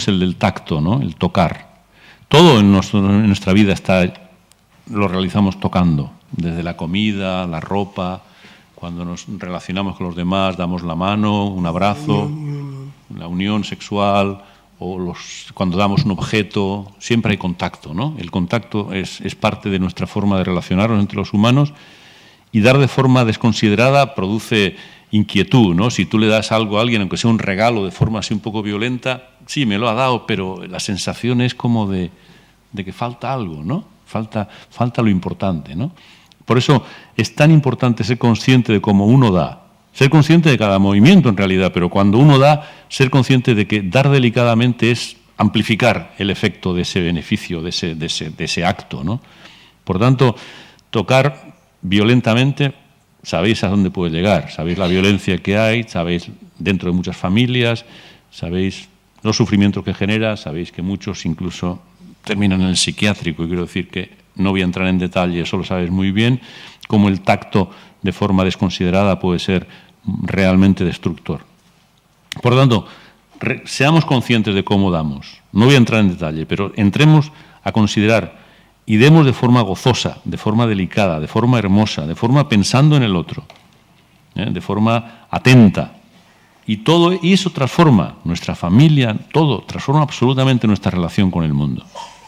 es el del tacto, ¿no? El tocar. Todo en nuestra vida lo realizamos tocando, desde la comida, la ropa, cuando nos relacionamos con los demás, damos la mano, un abrazo, la unión sexual, o cuando damos un objeto, siempre hay contacto, ¿no? El contacto es parte de nuestra forma de relacionarnos entre los humanos, y dar de forma desconsiderada produce inquietud, ¿no? Si tú le das algo a alguien, aunque sea un regalo de forma así un poco violenta, sí, me lo ha dado, pero la sensación es como de que falta algo, ¿no? Falta lo importante, ¿no? Por eso es tan importante ser consciente de cómo uno da, ser consciente de cada movimiento en realidad, pero cuando uno da, ser consciente de que dar delicadamente es amplificar el efecto de ese beneficio, de ese acto, ¿no? Por tanto, tocar violentamente, sabéis a dónde puede llegar, sabéis la violencia que hay, sabéis dentro de muchas familias, sabéis los sufrimientos que genera, sabéis que muchos incluso terminan en el psiquiátrico, y quiero decir que no voy a entrar en detalle, eso lo sabes muy bien, cómo el tacto de forma desconsiderada puede ser realmente destructor. Por lo tanto, seamos conscientes de cómo damos. No voy a entrar en detalle, pero entremos a considerar y demos de forma gozosa, de forma delicada, de forma hermosa, de forma pensando en el otro, de forma atenta. Y eso transforma nuestra familia, todo, transforma absolutamente nuestra relación con el mundo.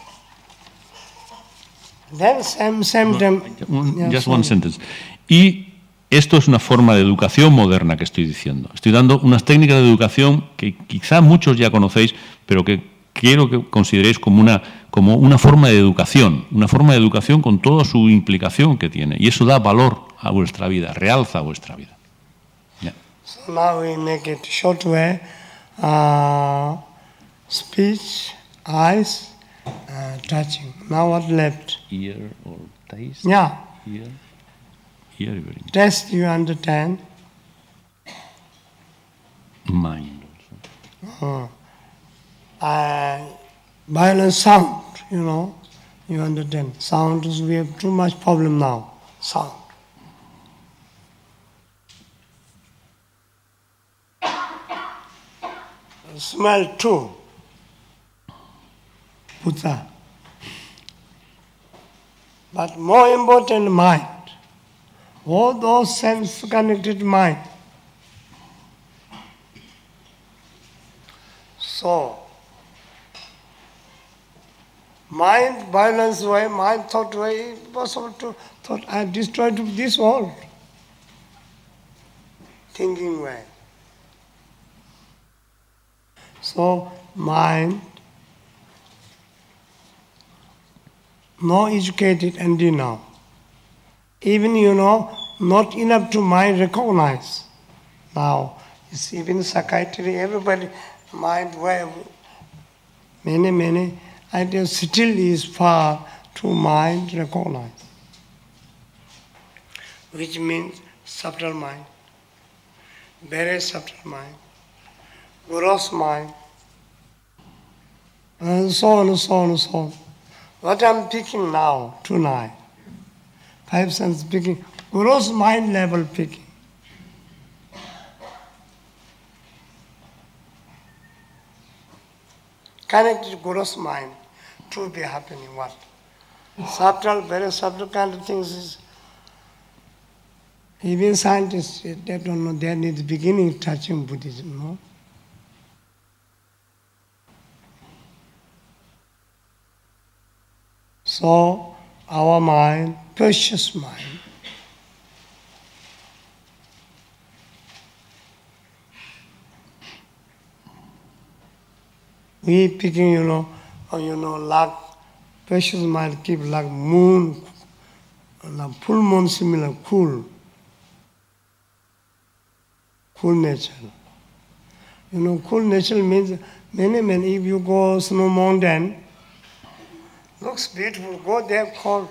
Just one sentence. Y esto es una forma de educación moderna que estoy diciendo. Estoy dando unas técnicas de educación que quizá muchos ya conocéis, pero que quiero que consideréis como una forma de educación con toda su implicación que tiene. Y eso da valor a vuestra vida, realza vuestra vida. Yeah. So now we make it short way. Speech, eyes, touching. Now what left? Ear or taste? Yeah. Ear very taste you understand? Mind also. Violent sound, you understand. Sound is, we have too much problem now. Sound. Smell too. Buddha. But more important, mind. All those sense-connected mind. So, mind, violence way, mind, thought way, impossible to thought. I destroyed this world. Thinking way. So, mind, no educated and now. Even, not enough to mind recognize. Now, it's even psychiatry, everybody, mind way, many ideas still is far to mind recognize. Which means subtle mind, very subtle mind, gross mind, and so on and so on and so on. What I'm picking now, tonight, 5 senses picking, gross mind level picking. Connected to gross mind to be happening what? Subtle, very subtle kind of things is, even scientists, they don't know, they need the beginning touching Buddhism, no? So, our mind, precious mind, we picking, like precious mind keep like moon, like full moon similar, cool nature. Cool nature means many, if you go snow mountain, looks beautiful, go there cold.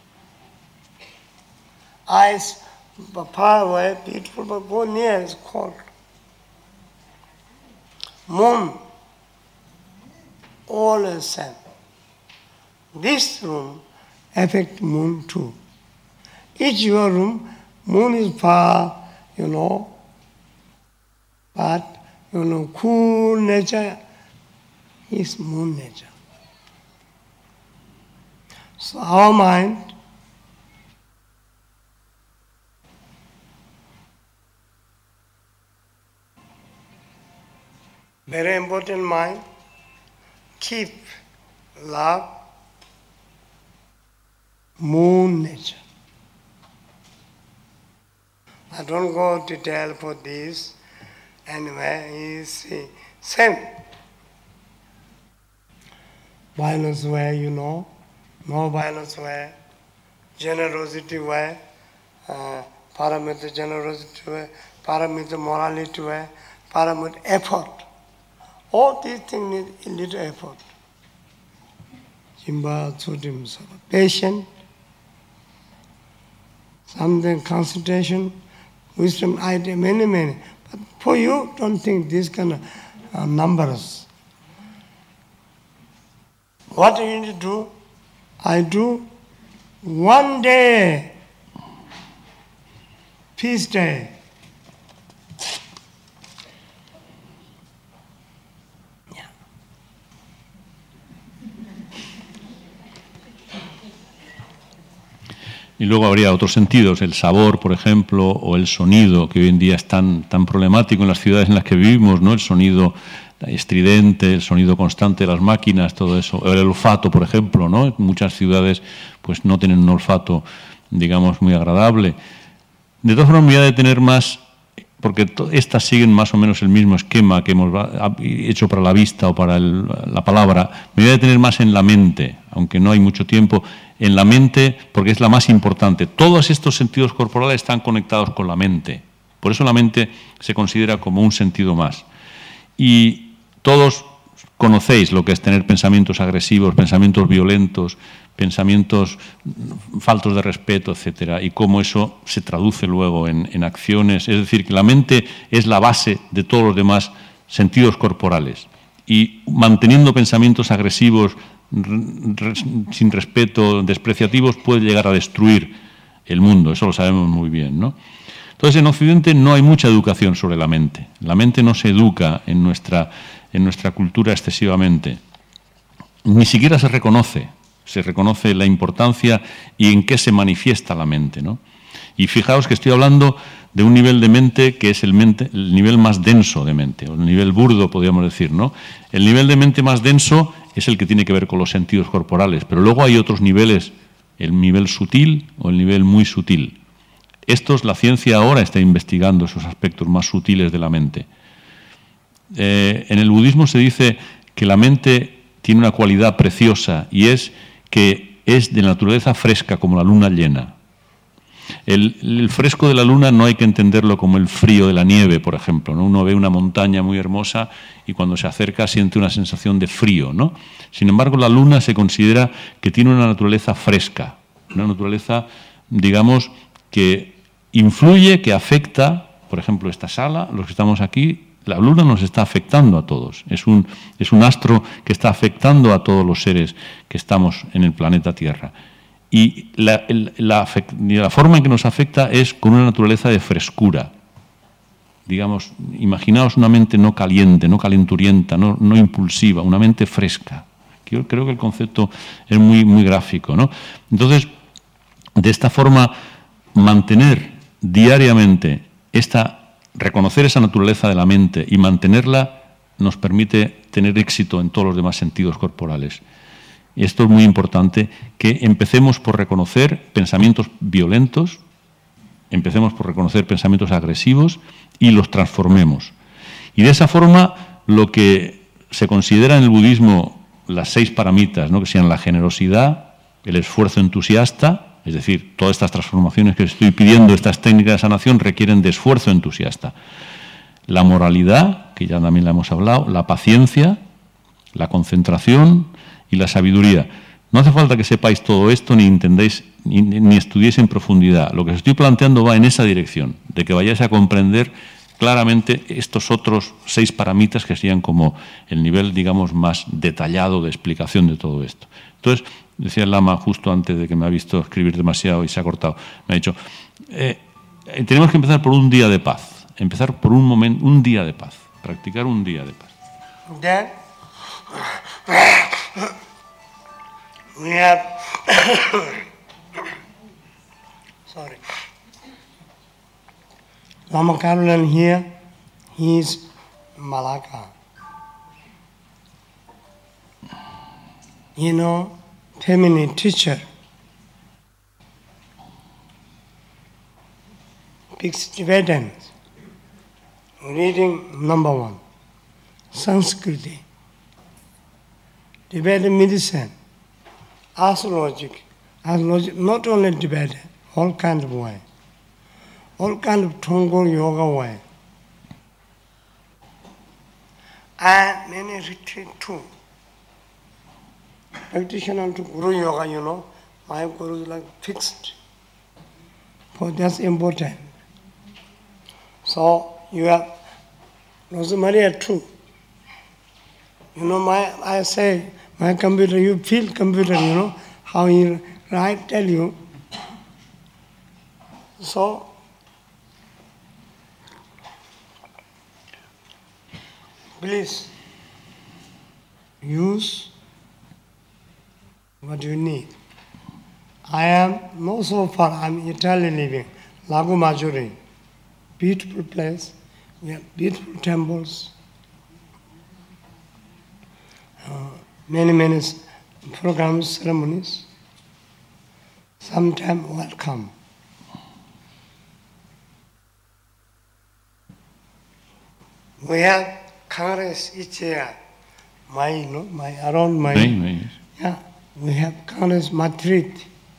Ice far away, beautiful, but go near, it's cold. Moon, all the same. This room affect moon too. Each your room, moon is far, but cool nature is moon nature. So our mind very important mind, keep love, moon nature. I don't go detail for this. Anyway, is same. Violence way, you know, no violence way, generosity way, paramita generosity way, paramita morality way, paramita effort. All these things need a little effort. Jimba Tsutim Sava. Patience, something concentration, wisdom, idea, many. But for you, don't think these kind of numbers. What do you need to do? I do one day, peace day. Y luego habría otros sentidos, el sabor, por ejemplo, o el sonido, que hoy en día es tan problemático en las ciudades en las que vivimos, ¿no? El sonido estridente, el sonido constante de las máquinas, todo eso. O el olfato, por ejemplo, ¿no? Muchas ciudades pues no tienen un olfato, digamos, muy agradable. De todas formas, me voy a detener más, porque estas siguen más o menos el mismo esquema que hemos hecho para la vista o para la palabra. Me voy a detener más en la mente, aunque no hay mucho tiempo, en la mente, porque es la más importante. Todos estos sentidos corporales están conectados con la mente. Por eso la mente se considera como un sentido más. Y todos conocéis lo que es tener pensamientos agresivos, pensamientos violentos, pensamientos faltos de respeto, etcétera, y cómo eso se traduce luego en acciones. Es decir, que la mente es la base de todos los demás sentidos corporales. Y manteniendo pensamientos agresivos, sin respeto, despreciativos, puede llegar a destruir el mundo. Eso lo sabemos muy bien, ¿no? Entonces, en Occidente no hay mucha educación sobre la mente. La mente no se educa en nuestra cultura excesivamente. Ni siquiera se reconoce la importancia y en qué se manifiesta la mente, ¿no? Y fijaos que estoy hablando de un nivel de mente que es el nivel más denso de mente, o el nivel burdo, podríamos decir, ¿no? El nivel de mente más denso es el que tiene que ver con los sentidos corporales, pero luego hay otros niveles, el nivel sutil o el nivel muy sutil. La ciencia ahora está investigando esos aspectos más sutiles de la mente. En el budismo se dice que la mente tiene una cualidad preciosa y es que es de naturaleza fresca como la luna llena. El fresco de la luna no hay que entenderlo como el frío de la nieve, por ejemplo, ¿no? Uno ve una montaña muy hermosa y cuando se acerca siente una sensación de frío, ¿no? Sin embargo, la luna se considera que tiene una naturaleza fresca, una naturaleza, digamos, que influye, que afecta, por ejemplo, esta sala, los que estamos aquí. La luna nos está afectando a todos. Es un astro que está afectando a todos los seres que estamos en el planeta Tierra. Y la forma en que nos afecta es con una naturaleza de frescura. Digamos, imaginaos una mente no caliente, no calenturienta, no impulsiva, una mente fresca. Yo creo que el concepto es muy, muy gráfico, ¿no? Entonces, de esta forma, mantener diariamente reconocer esa naturaleza de la mente y mantenerla nos permite tener éxito en todos los demás sentidos corporales. Y esto es muy importante, que empecemos por reconocer pensamientos violentos, empecemos por reconocer pensamientos agresivos y los transformemos. Y de esa forma, lo que se considera en el budismo las 6 paramitas, ¿no? Que sean la generosidad, el esfuerzo entusiasta. Es decir, todas estas transformaciones que estoy pidiendo, estas técnicas de sanación, requieren de esfuerzo entusiasta. La moralidad, que ya también la hemos hablado, la paciencia, la concentración y la sabiduría. No hace falta que sepáis todo esto, ni entendáis, ni estudiéis en profundidad. Lo que os estoy planteando va en esa dirección, de que vayáis a comprender claramente estos otros 6 paramitas que serían como el nivel, digamos, más detallado de explicación de todo esto. Entonces, decía el Lama justo antes de que me ha visto escribir demasiado y se ha cortado, me ha dicho, tenemos que empezar por un día de paz, empezar por un día de paz, practicar un día de paz. Then, We have, sorry, Lama Carolan here, he is Malacca. Feminine teacher. Speaks Tibetan. Reading number 1. Sanskriti. Tibetan medicine. Astrology, not only Tibetan, all kind of way. All kind of Thongol yoga way. And many retreat too. Practitioner to Guru Yoga, my Guru is like fixed. For that's important. So you have Rosemaria too. I say, my computer, you feel computer, how he write, tell you. So, please use what you need. I am not so far, I'm in Italy living, Lago Maggiore, beautiful place, we have beautiful temples, many programs, ceremonies. Sometime welcome. We have Congress each year. Around my. Yeah, we have Congress Madrid.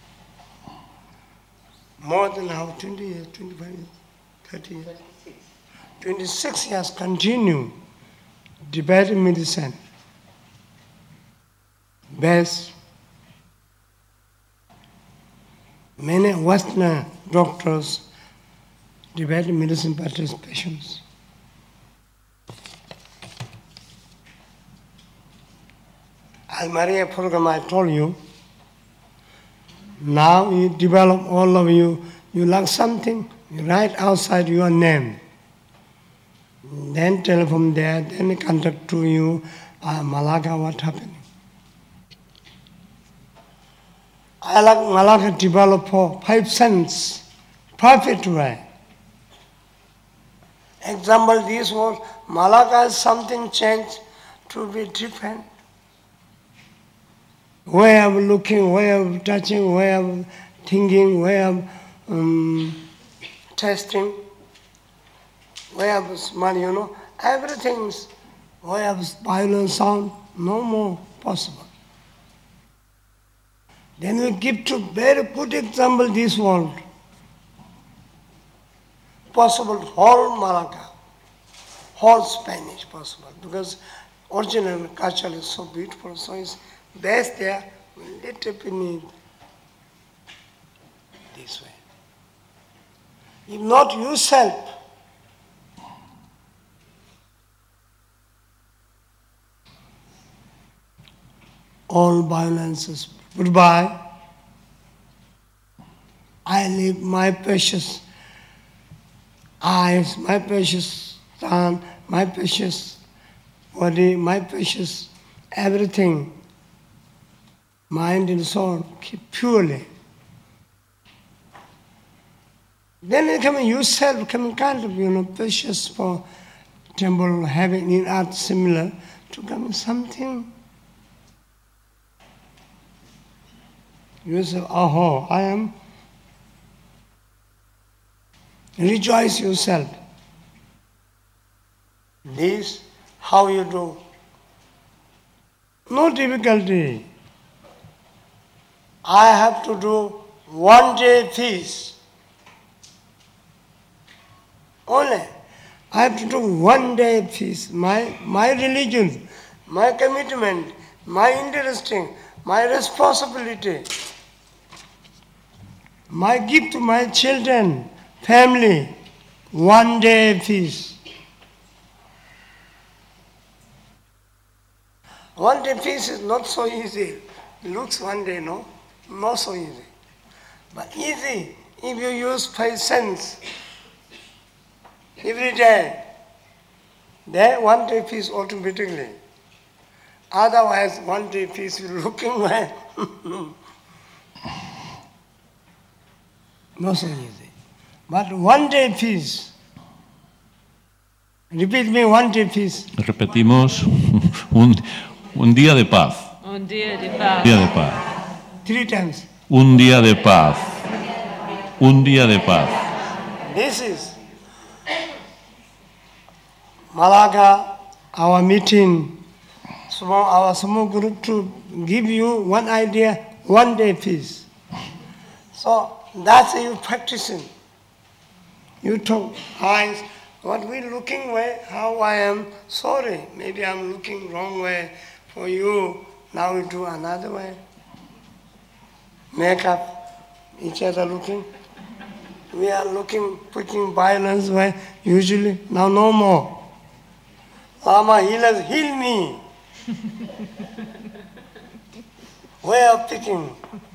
More than how 20 years, 25 years, 30 years. 26 years continue debating medicine. Best. Many Western doctors debate medicine participations. Almaria program I told you, now you develop all of you like something, you write outside your name. Then tell from there, then contact to you, Malacca, what happened. I like Malacca develop for 5 cents, perfect way. Example, this was Malacca is something changed to be different. Way of looking, way of touching, way of thinking, way of testing, way of smell, everything's way of violent sound, no more possible. Then we give to very good example this world. Possible whole Malacca, whole Spanish possible, because original culture is so beautiful, so it's best there, we little bit need this way. If not yourself, all violences, goodbye. I leave my precious eyes, my precious son, my precious body, my precious everything, mind and soul, keep purely. Then you come yourself, come kind of, precious for temple, having in art similar, to come something. You say, oh, I am. Rejoice yourself. This, how you do. No difficulty. I have to do 1 day feast. Only. I have to do 1 day feast. My religion, my commitment, my interesting, my responsibility, my gift to my children, family, 1 day feast. 1 day feast is not so easy. It looks 1 day, no? Not so easy. But easy if you use 5 cents every day. Then 1 day feast automatically. Otherwise, one day peace is looking well. Not so easy. But one day peace. Repeat me, one day peace. Repetimos, un día de paz. Un día de paz. Día de paz. 3 times. Un día de paz. Un día de paz. This is Malaga, our meeting, our small group to give you one idea, one day peace. So that's you practicing. You talk, what we looking way, how I am sorry. Maybe I'm looking wrong way for you. Now we do another way. Make up each other looking. We are looking, putting violence way, usually. Now no more. Lama healers, heal me. Way of picking.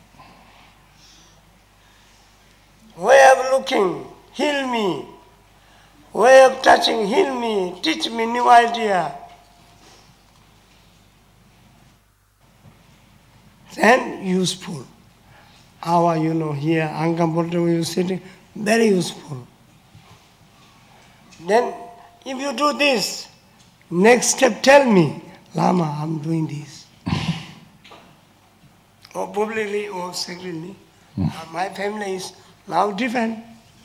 Way of looking, heal me. Way of touching, heal me. Teach me new idea. Then useful. Our, here, uncomfortable, you sitting, very useful. Then, if you do this, next step tell me, Lama, I'm doing this. Or publicly or secretly. My family is now different.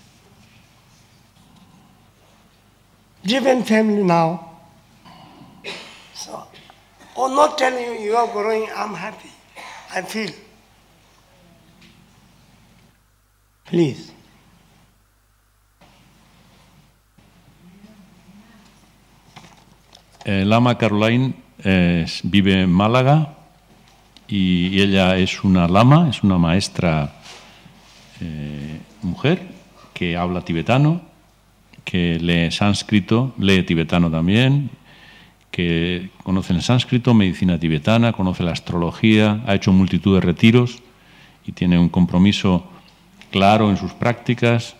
Different family now. So, or not telling you, you are growing, I'm happy. I feel. Please. Lama Caroline vive en Málaga y ella es una lama, es una maestra mujer que habla tibetano, que lee sánscrito, lee tibetano también, que conoce el sánscrito, medicina tibetana, conoce la astrología, ha hecho multitud de retiros y tiene un compromiso claro en sus prácticas.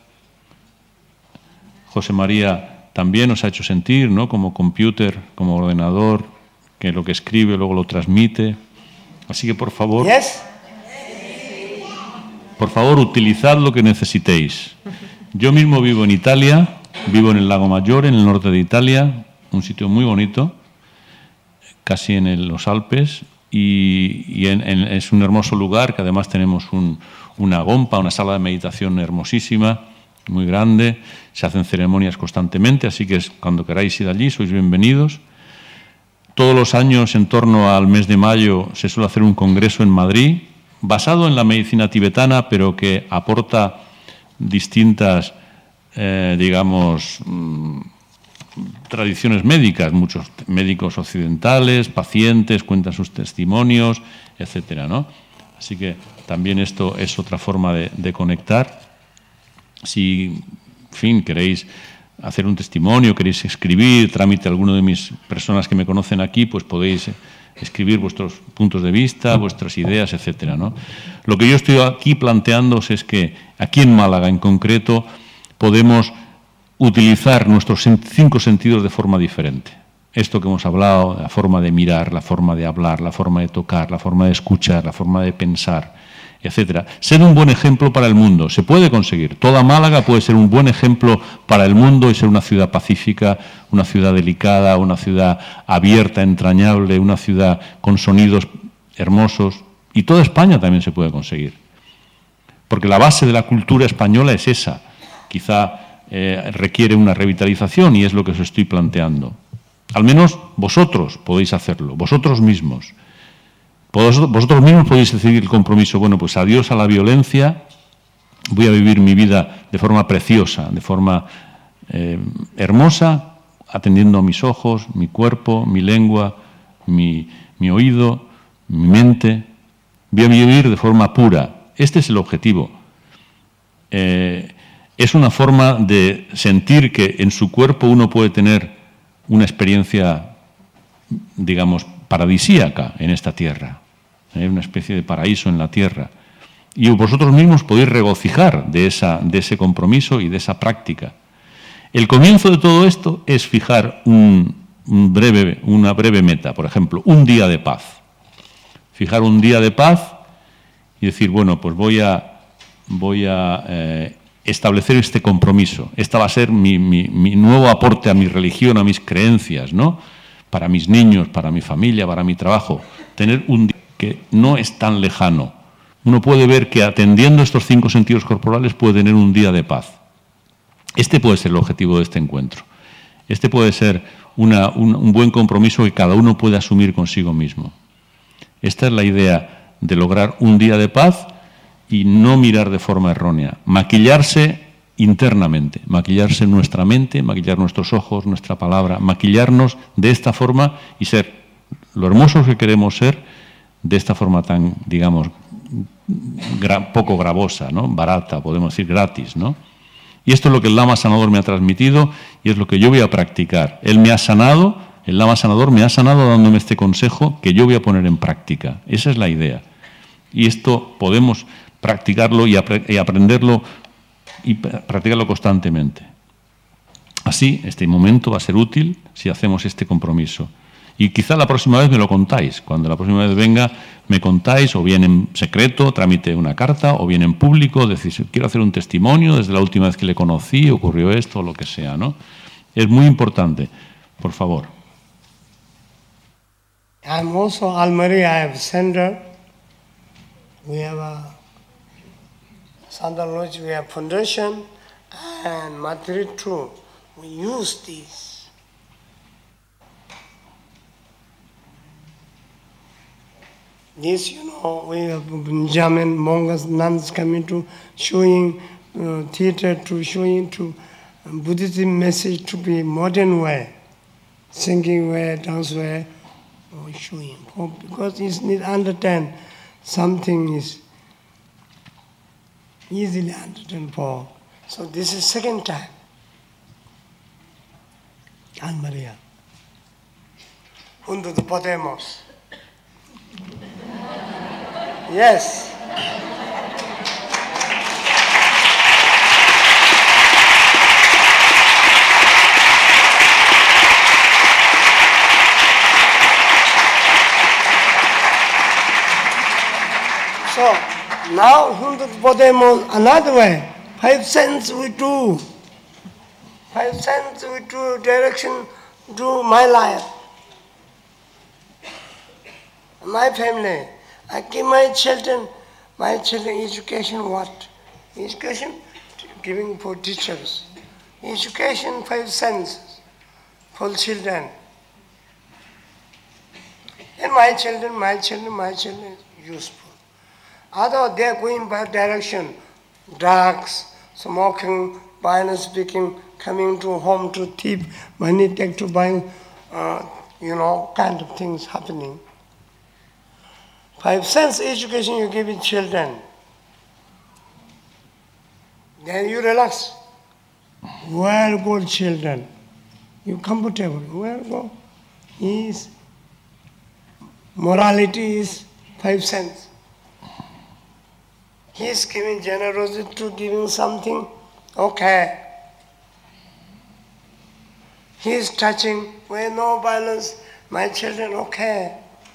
José María también nos ha hecho sentir, ¿no?, como computer, como ordenador, que lo que escribe luego lo transmite. Así que, por favor, utilizad lo que necesitéis. Yo mismo vivo en Italia, vivo en el Lago Maggiore, en el norte de Italia, un sitio muy bonito, casi en los Alpes, y es un hermoso lugar, que además tenemos una gompa, una sala de meditación hermosísima, muy grande, se hacen ceremonias constantemente, así que cuando queráis ir allí sois bienvenidos. Todos los años, en torno al mes de mayo, se suele hacer un congreso en Madrid, basado en la medicina tibetana, pero que aporta distintas, tradiciones médicas. Muchos médicos occidentales, pacientes, cuentan sus testimonios, etcétera, ¿no? Así que también esto es otra forma de conectar. Si, en fin, queréis hacer un testimonio, queréis escribir, trámite a alguno de mis personas que me conocen aquí, pues podéis escribir vuestros puntos de vista, vuestras ideas, etcétera, ¿no? Lo que yo estoy aquí planteándoos es que aquí en Málaga, en concreto, podemos utilizar nuestros 5 sentidos de forma diferente. Esto que hemos hablado, la forma de mirar, la forma de hablar, la forma de tocar, la forma de escuchar, la forma de pensar, etcétera. Ser un buen ejemplo para el mundo. Se puede conseguir. Toda Málaga puede ser un buen ejemplo para el mundo y ser una ciudad pacífica, una ciudad delicada, una ciudad abierta, entrañable, una ciudad con sonidos hermosos. Y toda España también se puede conseguir. Porque la base de la cultura española es esa. Quizá requiere una revitalización y es lo que os estoy planteando. Al menos vosotros podéis hacerlo, vosotros mismos. Vosotros mismos podéis decidir el compromiso. Bueno, pues adiós a la violencia, voy a vivir mi vida de forma preciosa, de forma hermosa, atendiendo a mis ojos, mi cuerpo, mi lengua, mi oído, mi mente. Voy a vivir de forma pura. Este es el objetivo. Es una forma de sentir que en su cuerpo uno puede tener una experiencia, digamos, paradisíaca en esta tierra, una especie de paraíso en la tierra. Y vosotros mismos podéis regocijar de ese compromiso y de esa práctica. El comienzo de todo esto es fijar un una breve meta, por ejemplo, un día de paz. Fijar un día de paz y decir, bueno, pues voy a establecer este compromiso. Esta va a ser mi nuevo aporte a mi religión, a mis creencias, ¿no? Para mis niños, para mi familia, para mi trabajo. Tener un día que no es tan lejano. Uno puede ver que atendiendo estos 5 sentidos corporales puede tener un día de paz. Este puede ser el objetivo de este encuentro. Este puede ser un buen compromiso que cada uno puede asumir consigo mismo. Esta es la idea de lograr un día de paz y no mirar de forma errónea. Maquillarse internamente, maquillarse nuestra mente, maquillar nuestros ojos, nuestra palabra, maquillarnos de esta forma y ser lo hermosos que queremos ser de esta forma tan, digamos, poco gravosa, ¿no? Barata, podemos decir gratis, ¿no? Y esto es lo que el Lama Sanador me ha transmitido y es lo que yo voy a practicar. Él me ha sanado, el Lama Sanador me ha sanado dándome este consejo que yo voy a poner en práctica. Esa es la idea. Y esto podemos practicarlo y aprenderlo y practicarlo constantemente. Así, este momento va a ser útil si hacemos este compromiso. Y quizá la próxima vez me lo contáis. Cuando la próxima vez venga, me contáis, o bien en secreto, tramite una carta, o bien en público, decís, quiero hacer un testimonio, desde la última vez que le conocí, ocurrió esto, o lo que sea, ¿no? Es muy importante. Por favor. I'm also Almari, I have center. We have a Santa Lodge, we have foundation, and Matri too. We use these. This, we have Jamin, monks, nuns coming to showing theater, to showing to Buddhism message to be modern way, singing way, dance way, or showing. Because it's need understand something is easily understand for. So this is second time. Anne Maria. Junto de Podemos. Yes. So now Juntos Podemos another way. 5 cents we do. 5 cents we do direction to my life. My family. I give my children education what? Education giving for teachers. Education 5 cents for children. And my children useful. Other they are going by direction, drugs, smoking, violence speaking, coming to home to thief, money take to buy, kind of things happening. 5 cents education you give in children. Then you relax. Where go children? You comfortable. Where go? Morality is 5 cents. He is giving generosity to giving something. Okay. He is touching. Where no violence. My children, okay.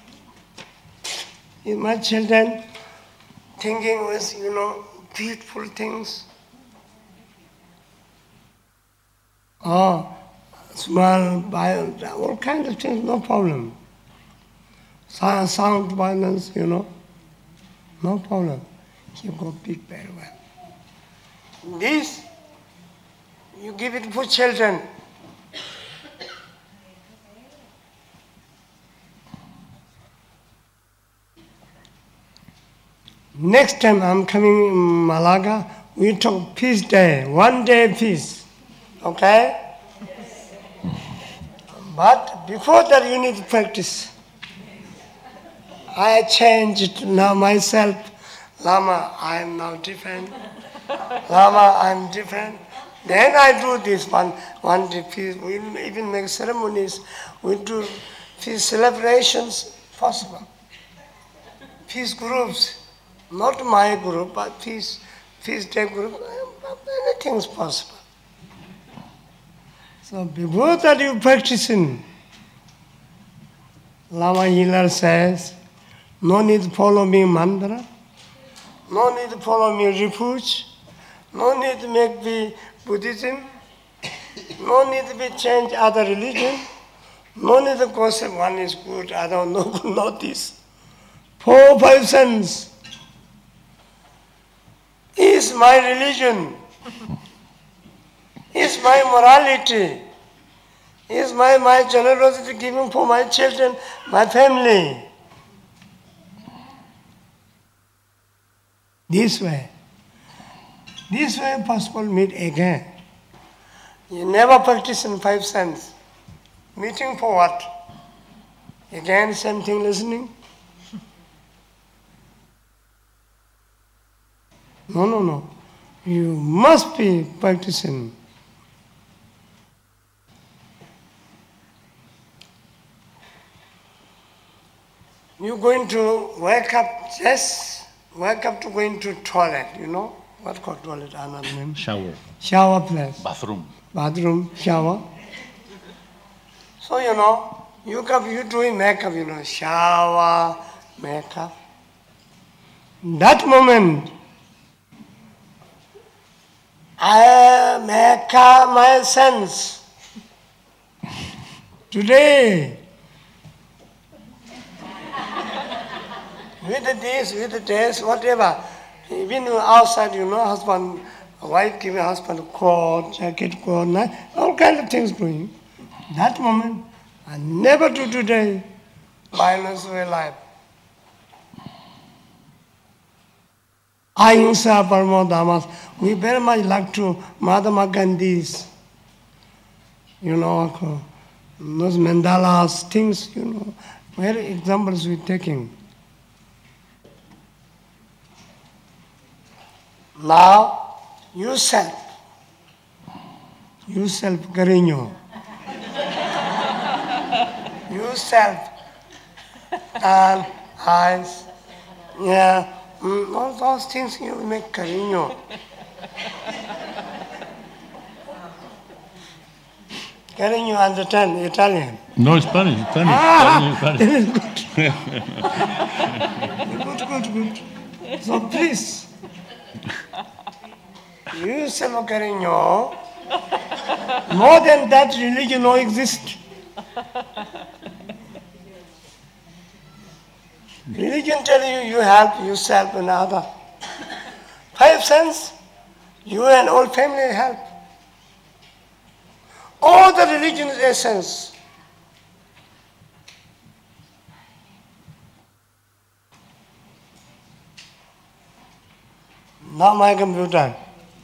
My children thinking with, beautiful things. Small, violence, all kinds of things, no problem. Sound violence, no problem. You go big very well. This, you give it for children. Next time I'm coming in Malaga, we talk peace day, 1 day peace. Okay? But before that you need to practice. I changed now myself. Lama, I am now different. Lama, I am different. Then I do this one day peace. We even make ceremonies. We do peace celebrations possible. Peace groups. Not my group, but peace day group, anything is possible. So before that you practicing, Lama healer says, no need to follow me mantra, no need to follow me refuge, no need to make me Buddhism, no need to be change other religion, no need to concept one is good, other no good, not this. 4, 5 cents is my religion, is my morality, is my generosity giving for my children, my family. This way possible meet again. You never practice in 5 cents. Meeting for what? Again, same thing listening? No. You must be practicing. You're going to wake up to going to toilet, you know? What called toilet? Another name? Shower. Shower place. Bathroom. Shower. So, you doing makeup, shower, makeup. That moment, I make up my sense. Today, with the this, whatever. Even outside, husband, wife giving husband coat, jacket, coat, all kind of things doing. That moment, I never do today violence way life. Ahimsa Paramo Dhammas. We very much like to Mahatma Gandhi's, those mandalas, things, very examples we're taking. Now, yourself, Carino. Yourself, and eyes, all those things you make Carino. Carino understand Italian? No, Spanish. Spanish. Good. So please. Yourself, Carino, more than that religion no exist. Religion tell you help yourself and other. 5 cents, you and all family help. All the religion's essence. Now my computer.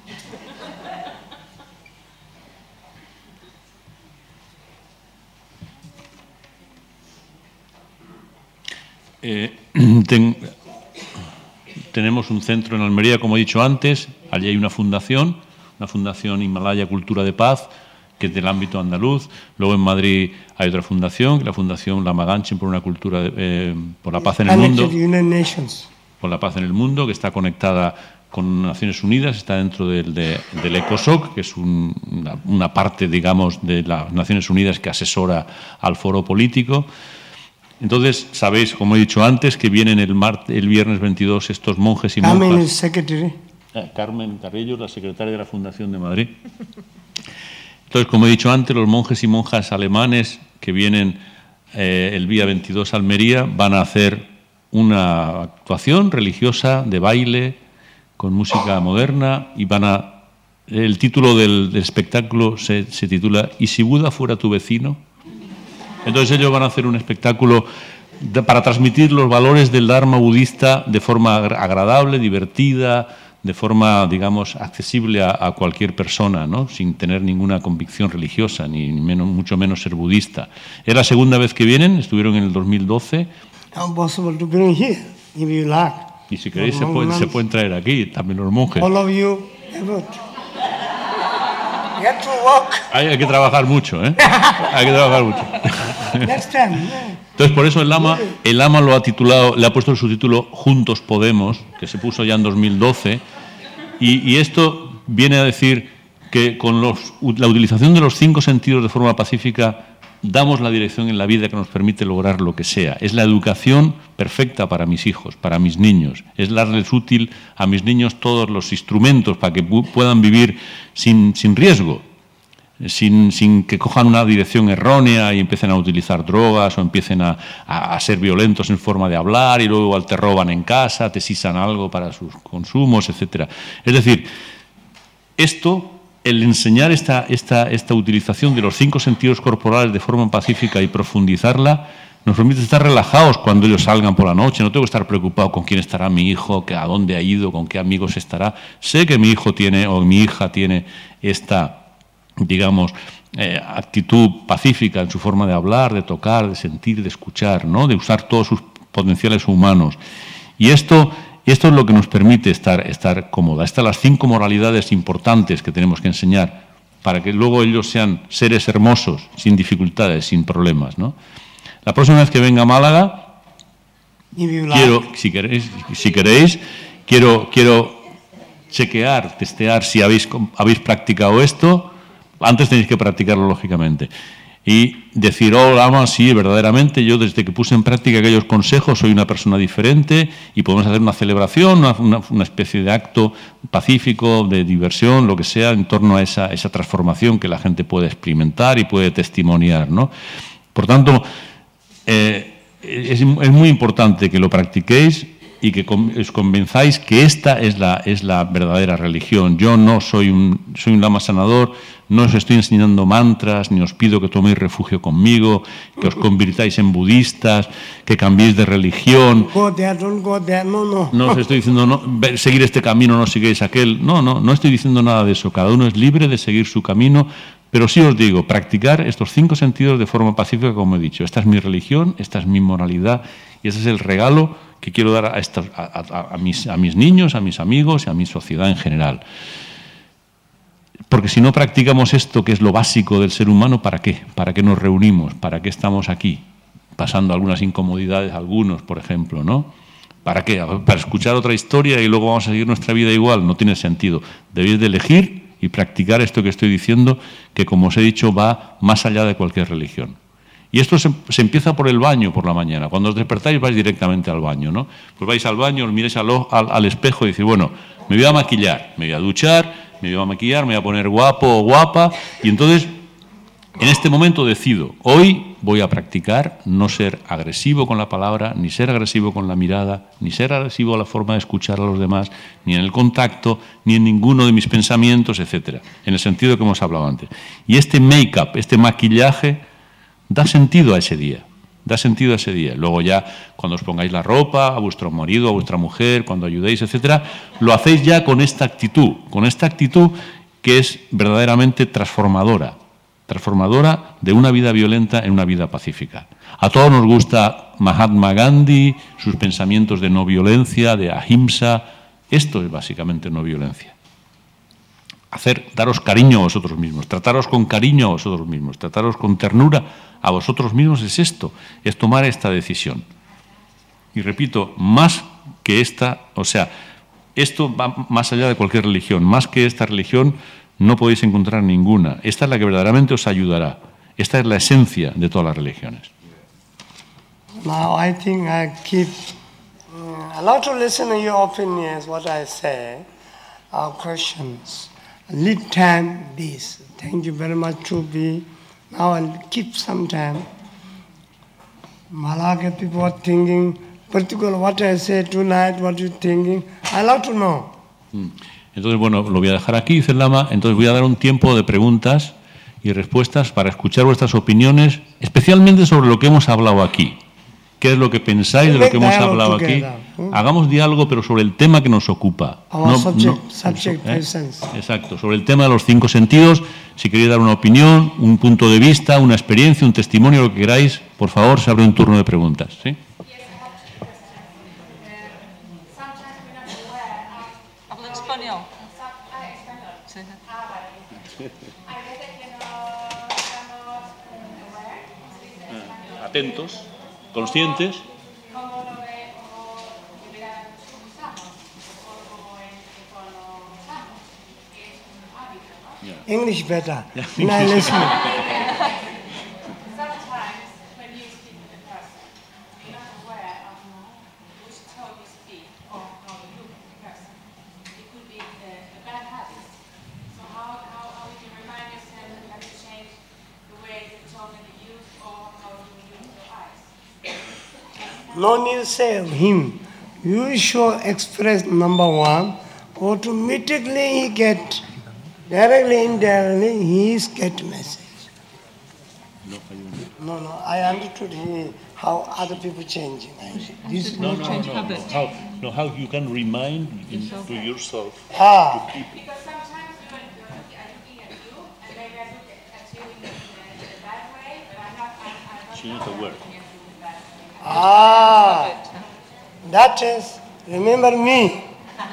Tenemos un centro en Almería, como he dicho antes. Allí hay una fundación Himalaya Cultura de Paz, que es del ámbito andaluz. Luego en Madrid hay otra fundación, la Fundación Lama Ganchen por una cultura por la paz en el mundo. Por la paz en el mundo, que está conectada con Naciones Unidas, está dentro del ECOSOC, que es una parte, digamos, de las Naciones Unidas que asesora al foro político. Entonces, sabéis, como he dicho antes, que vienen el viernes 22 estos monjes y monjas. Carmen Carrillo, la secretaria de la Fundación de Madrid. Entonces, como he dicho antes, los monjes y monjas alemanes que vienen el día 22 a Almería van a hacer una actuación religiosa de baile con música moderna y el título del espectáculo se titula ¿Y si Buda fuera tu vecino? Entonces ellos van a hacer un espectáculo para transmitir los valores del Dharma budista de forma agradable, divertida, de forma, digamos, accesible a cualquier persona, ¿no? Sin tener ninguna convicción religiosa, mucho menos ser budista. Es la segunda vez que vienen, estuvieron en el 2012. Y si queréis se pueden traer aquí también los monjes. All of you, hay que trabajar mucho, ¿eh? Hay que trabajar mucho. Entonces, por eso el Lama lo ha titulado, le ha puesto el subtítulo Juntos Podemos, que se puso ya en 2012, y esto viene a decir que con la utilización de los 5 sentidos de forma pacífica damos la dirección en la vida que nos permite lograr lo que sea. Es la educación perfecta para mis hijos, para mis niños. Es darles útil a mis niños todos los instrumentos para que puedan vivir sin riesgo, sin que cojan una dirección errónea y empiecen a utilizar drogas o empiecen a ser violentos en forma de hablar y luego igual te roban en casa, te sisan algo para sus consumos, etc. Es decir, el enseñar esta utilización de los 5 sentidos corporales de forma pacífica y profundizarla, nos permite estar relajados cuando ellos salgan por la noche. No tengo que estar preocupado con quién estará mi hijo, a dónde ha ido, con qué amigos estará. Sé que mi hijo tiene o mi hija tiene esta, digamos, actitud pacífica en su forma de hablar, de tocar, de sentir, de escuchar, ¿no? De usar todos sus potenciales humanos. Y esto es lo que nos permite estar cómoda. Estas son las 5 moralidades importantes que tenemos que enseñar para que luego ellos sean seres hermosos, sin dificultades, sin problemas, ¿no? La próxima vez que venga a Málaga, quiero, si queréis, quiero chequear, testear si habéis practicado esto. Antes tenéis que practicarlo, lógicamente. Y decir, oh, Lama, sí, verdaderamente, yo desde que puse en práctica aquellos consejos soy una persona diferente y podemos hacer una celebración, una especie de acto pacífico, de diversión, lo que sea, en torno a esa transformación que la gente puede experimentar y puede testimoniar, ¿no? Por tanto, es muy importante que lo practiquéis y que os convenzáis que esta es la verdadera religión. Yo no soy un lama sanador, no os estoy enseñando mantras, ni os pido que toméis refugio conmigo, que os convirtáis en budistas, que cambiéis de religión. No os estoy diciendo seguir este camino, no sigáis aquel. No estoy diciendo nada de eso. Cada uno es libre de seguir su camino, pero sí os digo, practicar estos 5 sentidos de forma pacífica, como he dicho. Esta es mi religión, esta es mi moralidad y ese es el regalo que quiero dar a mis niños, a mis amigos y a mi sociedad en general. Porque si no practicamos esto, que es lo básico del ser humano, ¿para qué? ¿Para qué nos reunimos? ¿Para qué estamos aquí? Pasando algunas incomodidades, algunos, por ejemplo, ¿no? ¿Para qué? ¿Para escuchar otra historia y luego vamos a seguir nuestra vida igual? No tiene sentido. Debéis de elegir y practicar esto que estoy diciendo, que, como os he dicho, va más allá de cualquier religión. Y esto se empieza por el baño por la mañana. Cuando os despertáis vais directamente al baño, ¿no? Pues vais al baño, os miráis al espejo y decís, bueno, me voy a maquillar, me voy a duchar, me voy a maquillar, me voy a poner guapo o guapa. Y entonces, en este momento decido, hoy voy a practicar no ser agresivo con la palabra, ni ser agresivo con la mirada, ni ser agresivo a la forma de escuchar a los demás, ni en el contacto, ni en ninguno de mis pensamientos, etcétera, en el sentido que hemos hablado antes. Y este make-up, este maquillaje, da sentido a ese día, Luego ya, cuando os pongáis la ropa, a vuestro marido, a vuestra mujer, cuando ayudéis, etcétera, lo hacéis ya con esta actitud que es verdaderamente transformadora de una vida violenta en una vida pacífica. A todos nos gusta Mahatma Gandhi, sus pensamientos de no violencia, de ahimsa. Esto es básicamente no violencia. Daros cariño a vosotros mismos, trataros con cariño a vosotros mismos, trataros con ternura a vosotros mismos es esto, es tomar esta decisión. Y repito, más que esta, o sea, esto va más allá de cualquier religión, más que esta religión no podéis encontrar ninguna. Esta es la que verdaderamente os ayudará. Esta es la esencia de todas las religiones. Now I think I keep allow to listen to your opinions, what I say, our questions. Lead time this. Thank you very much to be. Now I'll keep some time. Malaga people are thinking, particularly what I say tonight, what you're thinking. I love to know. Entonces, bueno, lo voy a dejar aquí, dice el Lama. Entonces voy a dar un tiempo de preguntas y respuestas para escuchar vuestras opiniones, especialmente sobre lo que hemos hablado aquí. ¿Qué es lo que pensáis de lo que hemos hablado aquí? Hagamos diálogo, pero sobre el tema que nos ocupa. Exacto, sobre el tema de los 5 sentidos. Si queréis dar una opinión, un punto de vista, una experiencia, un testimonio, lo que queráis, por favor, se abre un turno de preguntas. ¿Sí? ¿Hablo español? Atentos, conscientes. English better. Now listen. no need to say him. You should express number one. Automatically he get, directly, indirectly, he is get message. No, I understood how other people changing. This Change habit. How you can remind to yourself. Because sometimes we are looking at you, and maybe I look at you in a bad way, but I'm not. Change the word. That is, remember me.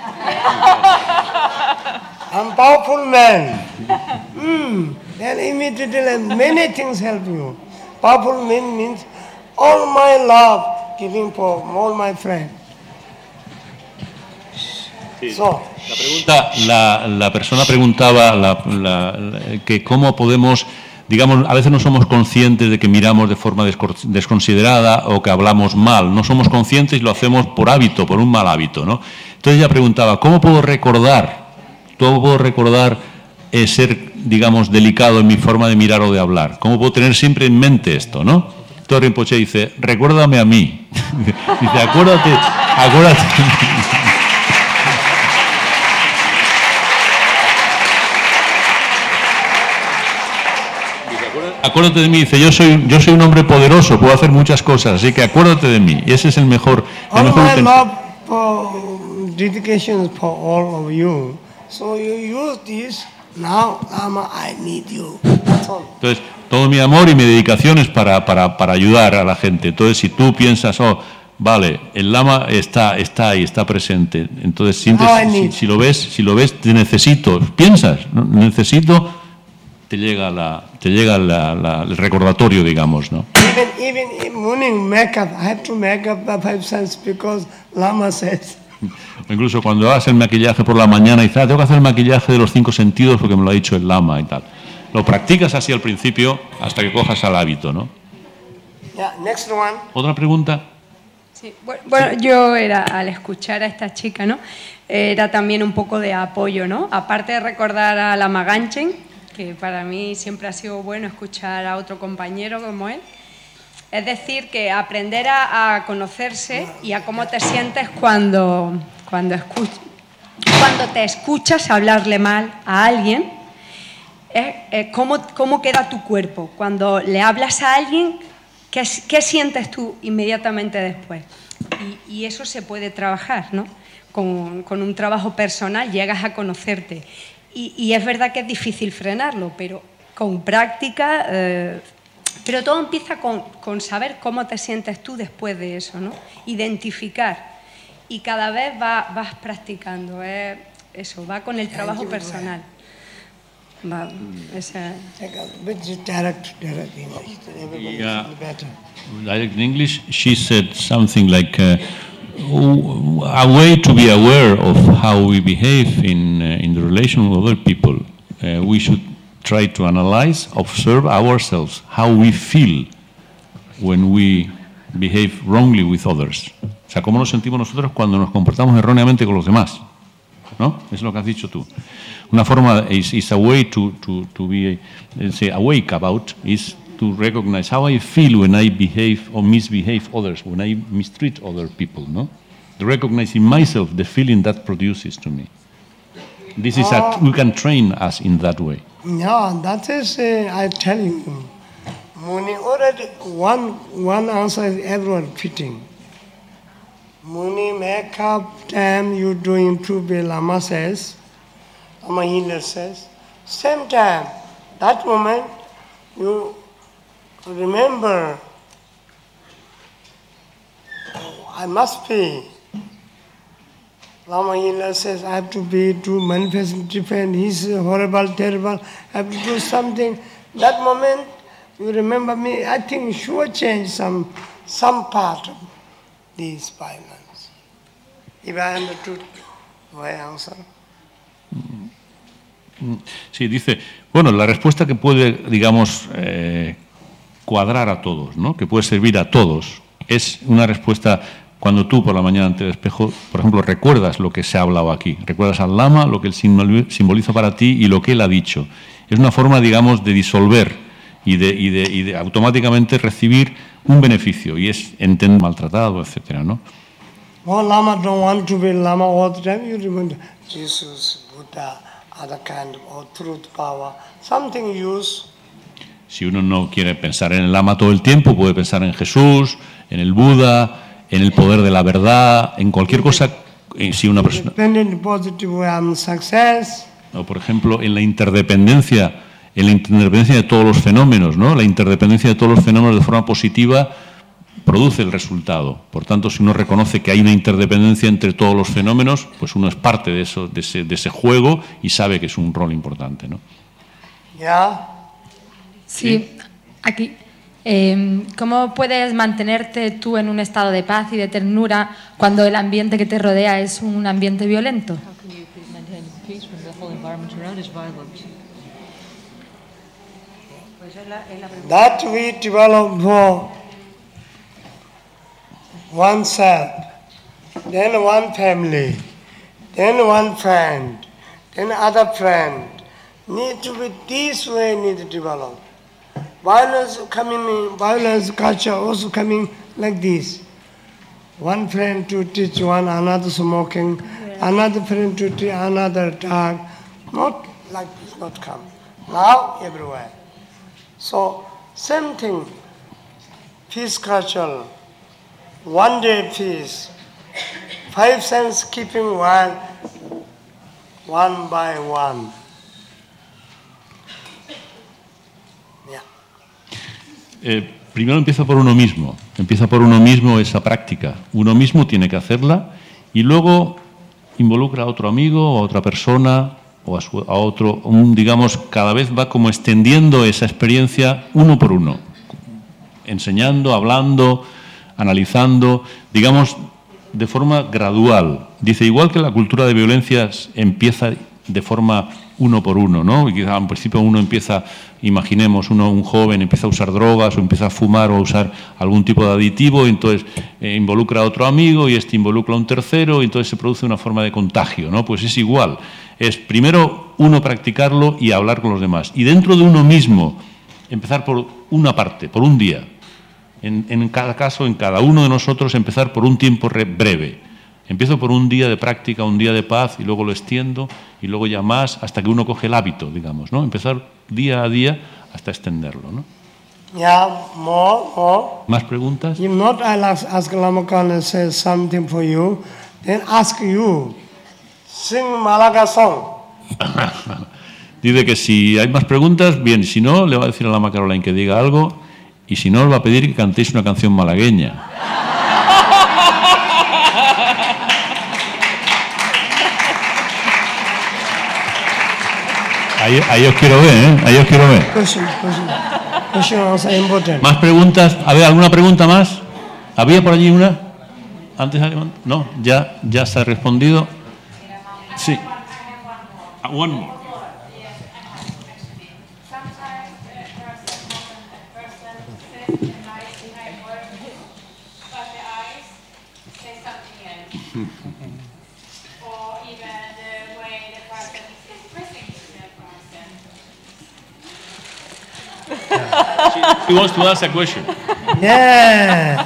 I'm powerful man. Then immediately many things help you. Powerful man means all my love giving for all my friends. Sí. So, La persona preguntaba que cómo podemos, digamos, a veces no somos conscientes de que miramos de forma desconsiderada o que hablamos mal. No somos conscientes y lo hacemos por hábito, por un mal hábito, ¿no? Entonces ella preguntaba, ¿cómo puedo recordar ser, digamos, delicado en mi forma de mirar o de hablar? ¿Cómo puedo tener siempre en mente esto, no? Entonces Rinpoche dice, recuérdame a mí. Dice, acuérdate. Acuérdate de mí, dice, yo soy un hombre poderoso, puedo hacer muchas cosas, así que acuérdate de mí. Y ese es el mejor all my love for dedication for all of you. So you use this, now Lama, I need you. That's all. Entonces, todo mi amor y mi dedicación es para ayudar a la gente. Entonces, si tú piensas, vale, el Lama está ahí, está presente. Entonces, sientes, si lo ves, te necesito. Piensas, ¿no? Necesito, te llega el recordatorio, digamos, ¿no? Even in morning makeup, I have to make up the 5 senses because Lama says. O incluso cuando hagas el maquillaje por la mañana y dices, tengo que hacer el maquillaje de los 5 sentidos porque me lo ha dicho el Lama y tal. Lo practicas así al principio hasta que cojas al hábito, ¿no? Yeah, next one. ¿Otra pregunta? Sí, bueno, yo al escuchar a esta chica, ¿no? Era también un poco de apoyo, ¿no? Aparte de recordar a Lama Ganchen, que para mí siempre ha sido bueno escuchar a otro compañero como él. Es decir, que aprender a conocerse y a cómo te sientes cuando te escuchas hablarle mal a alguien, cómo queda tu cuerpo. Cuando le hablas a alguien, ¿qué sientes tú inmediatamente después? Y eso se puede trabajar, ¿no? Con un trabajo personal llegas a conocerte. Y es verdad que es difícil frenarlo, pero con práctica... Pero todo empieza con saber cómo te sientes tú después de eso, ¿no? Identificar. Y cada vez vas practicando. Eso, va con el trabajo personal. Va, Direct English. Yeah. Direct in English, she said something like, a way to be aware of how we behave in the relation with other people. We should try to analyze, observe ourselves, how we feel when we behave wrongly with others. O sea, cómo nos sentimos nosotros cuando nos comportamos erróneamente con los demás, ¿no? Es lo que has dicho tú. Una forma is a way to be awake about is to recognize how I feel when I behave or misbehave others, when I mistreat other people, no? Recognizing myself the feeling that produces to me. This is we can train us in that way. Yeah, that is, I tell you, Muni already one answer is everyone fitting. Muni makeup time you doing to be Lama says, Lama healer says, same time, that moment you remember, I must be. Lama healer says, I have to manifest, defend, he's horrible, terrible, I have to do something. That moment, you remember me, I think sure change some part of these 5 months. If I understood my answer. Sí, dice, bueno, la respuesta que puede, digamos, cuadrar a todos, ¿no? Que puede servir a todos, es una respuesta. Cuando tú por la mañana ante el espejo, por ejemplo, recuerdas lo que se ha hablado aquí, recuerdas al Lama, lo que él simboliza para ti y lo que él ha dicho. Es una forma, digamos, de disolver y de automáticamente recibir un beneficio y es entender maltratado, etcétera, ¿no? All Lama don't want to be Lama all the time. You remember Jesus, Buddha, other kind of truth, power, something use. Si uno no quiere pensar en el Lama todo el tiempo, puede pensar en Jesús, en el Buda, en el poder de la verdad, en cualquier cosa. Si una persona, Dependent positive way, I'm success. o por ejemplo, en la interdependencia de todos los fenómenos, ¿no? La interdependencia de todos los fenómenos de forma positiva produce el resultado. Por tanto, si uno reconoce que hay una interdependencia entre todos los fenómenos, pues uno es parte de eso, de ese juego y sabe que es un rol importante, ¿no? Yeah. Sí, aquí. ¿Cómo puedes mantenerte tú en un estado de paz y de ternura cuando el ambiente que te rodea es un ambiente violento? How can you maintain peace when the whole environment around is violent? That we develop for oneself, then one family, then one friend, then other friend. Need to be this way, need to develop. Violence coming in, violence culture also coming like this. One friend to teach one, another smoking, another friend to teach another dog. Not like this, not come. Now everywhere. So same thing, peace culture, one day peace, 5 cents keeping one by one. Primero empieza por uno mismo esa práctica. Uno mismo tiene que hacerla y luego involucra a otro amigo o a otra persona o a otro, digamos, cada vez va como extendiendo esa experiencia uno por uno, enseñando, hablando, analizando, digamos, de forma gradual. Dice, igual que la cultura de violencias empieza de forma uno por uno, ¿no? Y quizá al principio uno empieza, imaginemos, un joven empieza a usar drogas o empieza a fumar o a usar algún tipo de aditivo y entonces involucra a otro amigo y este involucra a un tercero y entonces se produce una forma de contagio, ¿no? Pues es igual. Es primero uno practicarlo y hablar con los demás. Y dentro de uno mismo, empezar por una parte, por un día. En cada caso, en cada uno de nosotros, empezar por un tiempo breve. Empiezo por un día de práctica, un día de paz, y luego lo extiendo, y luego ya más, hasta que uno coge el hábito, digamos, ¿no? Empezar día a día hasta extenderlo, ¿no? Yeah, more. ¿Más preguntas? If not, I'll ask Lama Khan say something for you. Then ask you, sing Malaga song. Dice que si hay más preguntas, bien, si no, le va a decir a Lama Caroline que diga algo, y si no, le va a pedir que cantéis una canción malagueña. Ahí os quiero ver, ¿eh? Ahí os quiero ver. Question also important. ¿Más preguntas? A ver, ¿alguna pregunta más? ¿Había por allí una? ¿Antes? No, ya está respondido. Sí. One more. He wants to ask a question. Yeah.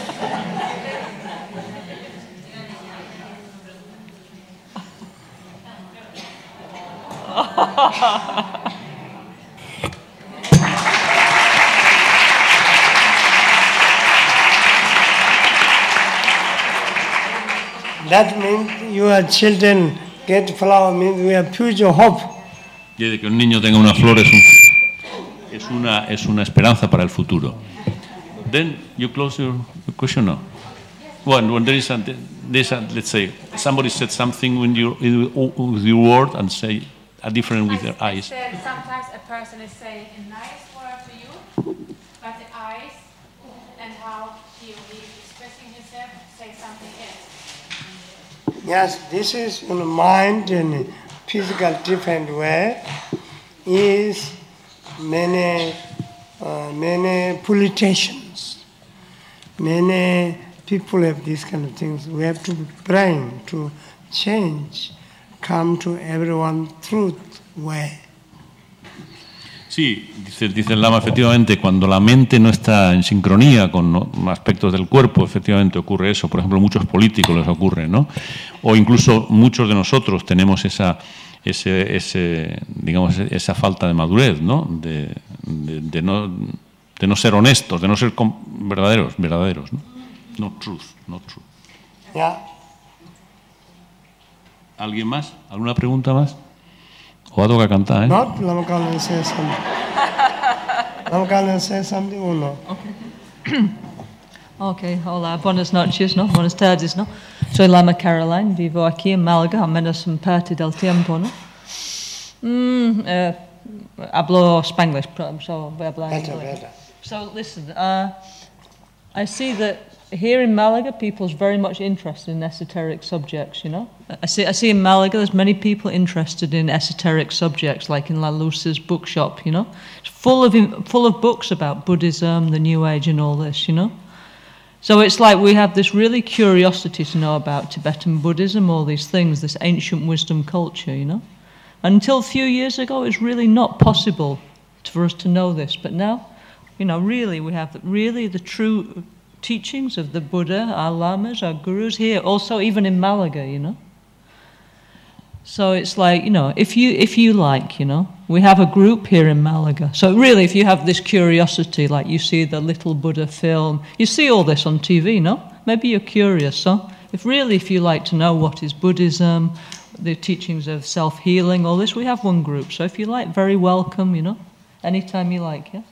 That means your children get flower means we have future hope. Y de que un niño tenga una flor es una esperanza para el futuro. Then you close your question now. When there is let's say somebody said something with your word and say a different with their eyes. Sometimes a person is saying a nice word to you, but the eyes and how he is expressing himself say something else. Yes, this is in the mind and physical different way. Is many politicians, many people have these kind of things. We have to bring to change, come to everyone truth way. Sí, dice el Lama, efectivamente, cuando la mente no está en sincronía con aspectos del cuerpo, efectivamente ocurre eso. Por ejemplo, a muchos políticos les ocurre, ¿no? O incluso muchos de nosotros tenemos esa falta de madurez, ¿no? De no ser honestos, de no ser verdaderos, ¿no? No truth. Yeah. ¿Alguien más? ¿Alguna pregunta más? O a toca cantar, ¿eh? Not Lama Kalan say something. Lama Kalan say something or no? Ok, olá, buenas noches, ¿no? Buenas tardes, ¿no? Soy Lama Caroline, vivo aquí en Málaga, al menos en parte del tiempo, ¿no? Hablo Spanglish, so voy a hablar inglés. Better. So listen, I see that here in Malaga, people's very much interested in esoteric subjects, you know. I see in Malaga there's many people interested in esoteric subjects, like in La Luz's bookshop, you know. It's full of books about Buddhism, the New Age and all this, you know. So it's like we have this really curiosity to know about Tibetan Buddhism, all these things, this ancient wisdom culture, you know. Until a few years ago, it was really not possible for us to know this. But now, you know, really we have the true teachings of the Buddha, our lamas, our gurus here, also even in Malaga, you know. So it's like, you know, if you like, you know, we have a group here in Malaga. So really, if you have this curiosity, like you see the Little Buddha film, you see all this on TV, no? Maybe you're curious, so if you like to know what is Buddhism, the teachings of self-healing, all this, we have one group. So if you like, very welcome, you know, anytime you like, yeah.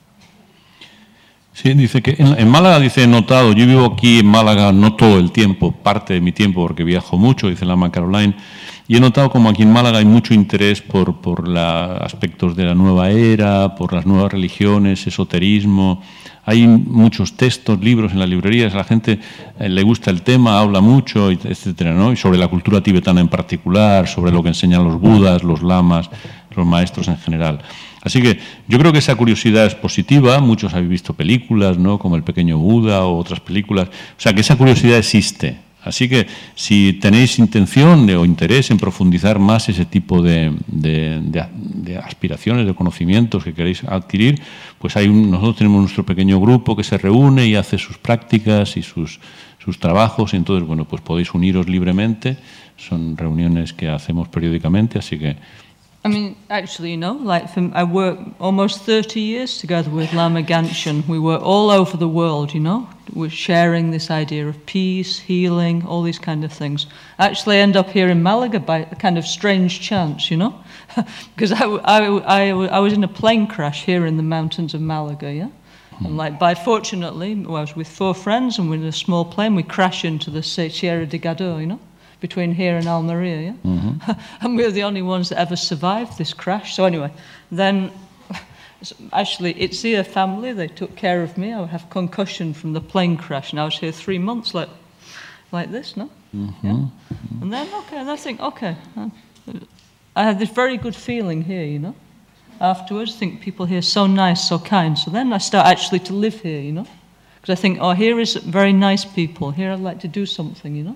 Sí, dice que en Málaga, dice, he notado, yo vivo aquí en Málaga no todo el tiempo, parte de mi tiempo porque viajo mucho, dice Lama Caroline, y he notado como aquí en Málaga hay mucho interés por aspectos de la nueva era, por las nuevas religiones, esoterismo. Hay muchos textos, libros en las librerías, a la gente le gusta el tema, habla mucho, etcétera, ¿no? Y sobre la cultura tibetana en particular, sobre lo que enseñan los budas, los lamas, los maestros en general. Así que yo creo que esa curiosidad es positiva. Muchos habéis visto películas, ¿no? Como El Pequeño Buda o otras películas. O sea, que esa curiosidad existe. Así que si tenéis intención o interés en profundizar más ese tipo de aspiraciones, de conocimientos que queréis adquirir, pues nosotros tenemos nuestro pequeño grupo que se reúne y hace sus prácticas y sus trabajos. Y entonces, bueno, pues podéis uniros libremente. Son reuniones que hacemos periódicamente, así que... I mean, actually, you know, like I worked almost 30 years together with Lama Gantchen. We were all over the world, you know. We're sharing this idea of peace, healing, all these kind of things. I actually end up here in Malaga by a kind of strange chance, you know, because I was in a plane crash here in the mountains of Malaga, yeah. And like, fortunately, I was with 4 friends and we're in a small plane. We crash into the Sierra de Gado, you know, between here and Almeria, yeah? Mm-hmm. And we're the only ones that ever survived this crash. So anyway, then actually Itzia family, they took care of me. I have concussion from the plane crash and I was here 3 months like this, no? Mm-hmm. Yeah? And then, and I think, I had this very good feeling here, you know? Afterwards, I think people here are so nice, so kind. So then I start actually to live here, you know? Because I think, here is very nice people. Here I'd like to do something, you know?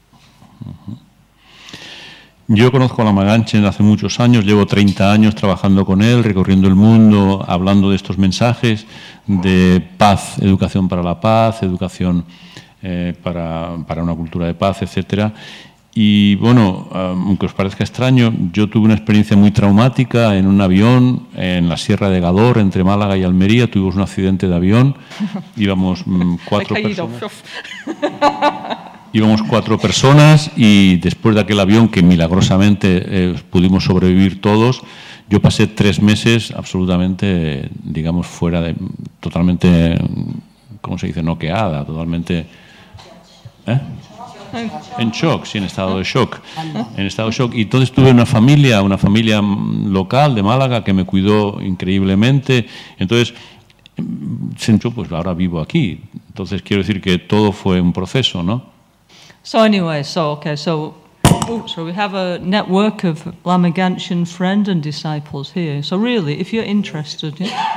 Yo conozco a Lama Gantchen hace muchos años, llevo 30 años trabajando con él, recorriendo el mundo, hablando de estos mensajes de paz, educación para la paz, educación para una cultura de paz, etcétera. Y bueno, aunque os parezca extraño, yo tuve una experiencia muy traumática en un avión en la Sierra de Gador, entre Málaga y Almería. Tuvimos un accidente de avión, íbamos 4 personas. Íbamos 4 personas y después de aquel avión, que milagrosamente pudimos sobrevivir todos, yo pasé 3 meses absolutamente, digamos, totalmente, ¿cómo se dice? Noqueada, totalmente... En shock, sí, en estado de shock. En estado de shock. Y entonces tuve una familia local de Málaga que me cuidó increíblemente. Entonces, pues ahora vivo aquí. Entonces quiero decir que todo fue un proceso, ¿no? So anyway, so we have a network of Lama Gantchen friend and disciples here. So really, if you're interested,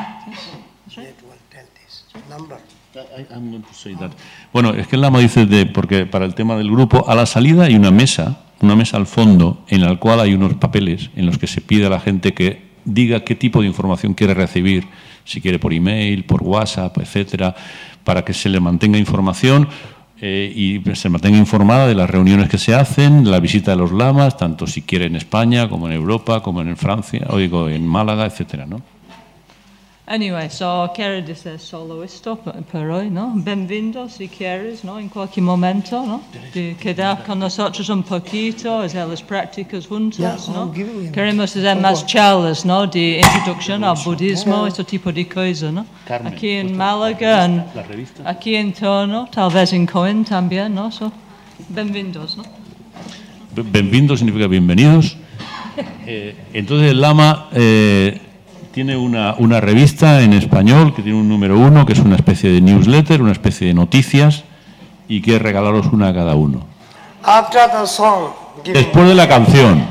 I'm going to say that. Bueno, es que el Lama dice porque para el tema del grupo, a la salida hay una mesa al fondo en la cual hay unos papeles en los que se pide a la gente que diga qué tipo de información quiere recibir, si quiere por email, por WhatsApp, etcétera, para que se le mantenga información y se mantenga informada de las reuniones que se hacen, la visita de los lamas, tanto si quiere en España, como en Europa, como en Francia, o digo, en Málaga, etcétera, ¿no? Anyway, so quieres decir solo esto por hoy, ¿no? Bienvenido si quieres, ¿no? En cualquier momento, ¿no? De quedar con nosotros un poquito, hacer las prácticas juntos, ¿no? Queremos hacer más charlas, ¿no? De introducción al budismo, este tipo de cosas, ¿no? Carmen, aquí en Málaga, aquí en torno, tal vez en Coen también, ¿no? So, bienvenidos, ¿no? Bienvenido significa bienvenidos. Entonces el Lama tiene una revista en español que tiene un número 1, que es una especie de newsletter, una especie de noticias, y quiere regalaros una a cada uno. After the song, Después de la canción.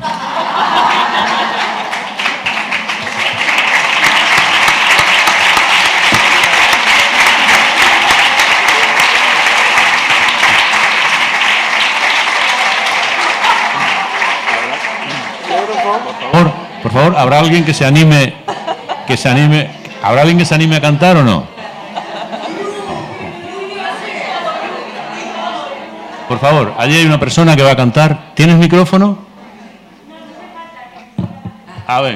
Por favor, ¿habrá alguien que se anime? ¿Habrá alguien que se anime a cantar o no? Por favor, allí hay una persona que va a cantar. ¿Tienes micrófono? A ver.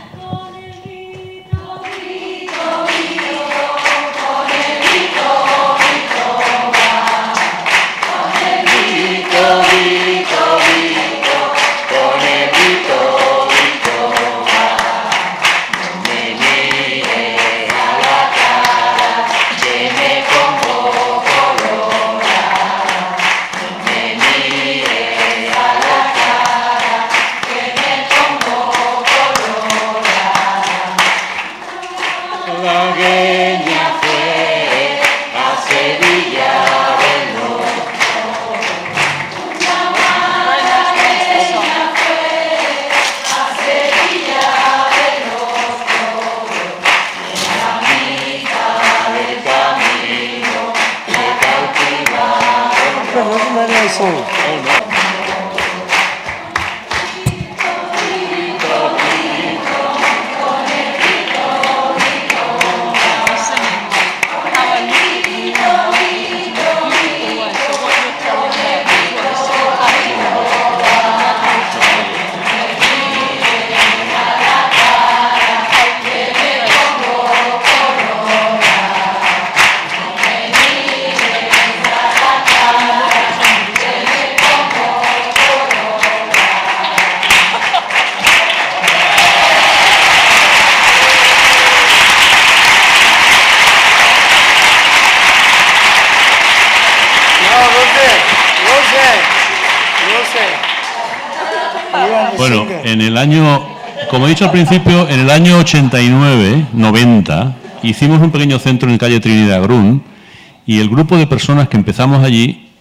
Bueno, en el año, como he dicho al principio, en el año 89, 90, hicimos un pequeño centro en calle Trinidad Grun, y el grupo de personas que empezamos allí,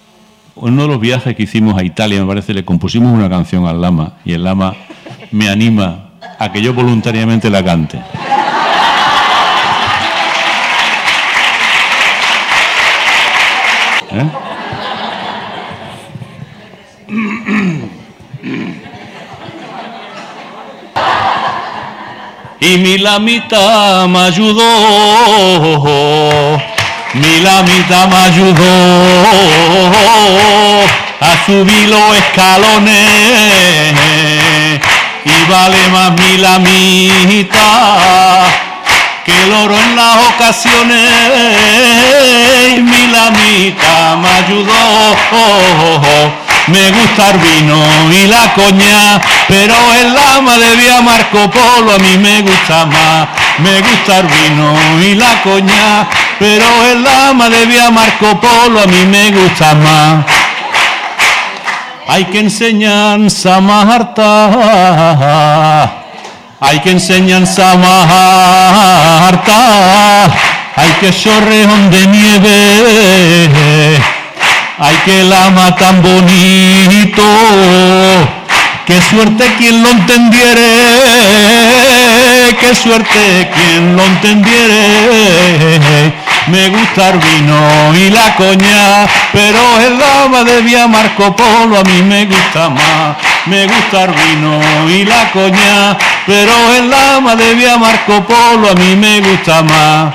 en uno de los viajes que hicimos a Italia, me parece, le compusimos una canción al Lama, y el Lama me anima a que yo voluntariamente la cante. Y mi lamita me ayudó, mi lamita me ayudó a subir los escalones, y vale más mi lamita que el oro en las ocasiones. Y mi lamita me ayudó. Me gusta el vino y la coña, pero el Lama de Vía Marco Polo a mí me gusta más. Me gusta el vino y la coña, pero el Lama de Vía Marco Polo a mí me gusta más. Hay que enseñanza más harta, hay que enseñanza más harta, hay que chorreón de nieve. Ay, que Lama tan bonito, qué suerte quien lo entendiere, qué suerte quien lo entendiere. Me gusta el vino y la coña, pero el Lama de Vía Marco Polo a mí me gusta más. me gusta el vino y la coña, pero el lama de Vía Marco Polo a mí me gusta más.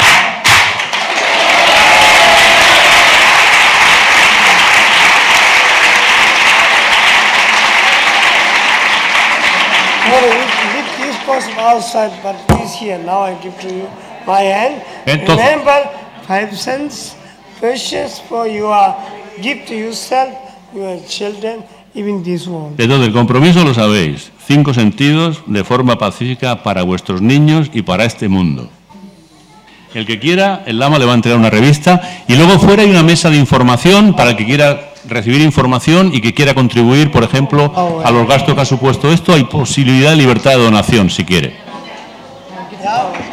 With this person outside, but he's here. Now I give to you my hand. Entonces, remember, 5 cents, precious for your gift to yourself, your children, even this world. entonces, el compromiso lo sabéis. 5 sentidos de forma pacífica para vuestros niños y para este mundo. El que quiera, el lama le va a entregar una revista y luego fuera hay una mesa de información para el que quiera recibir información y que quiera contribuir, por ejemplo, a los gastos que ha supuesto esto. Hay posibilidad de libertad de donación, si quiere. Yeah.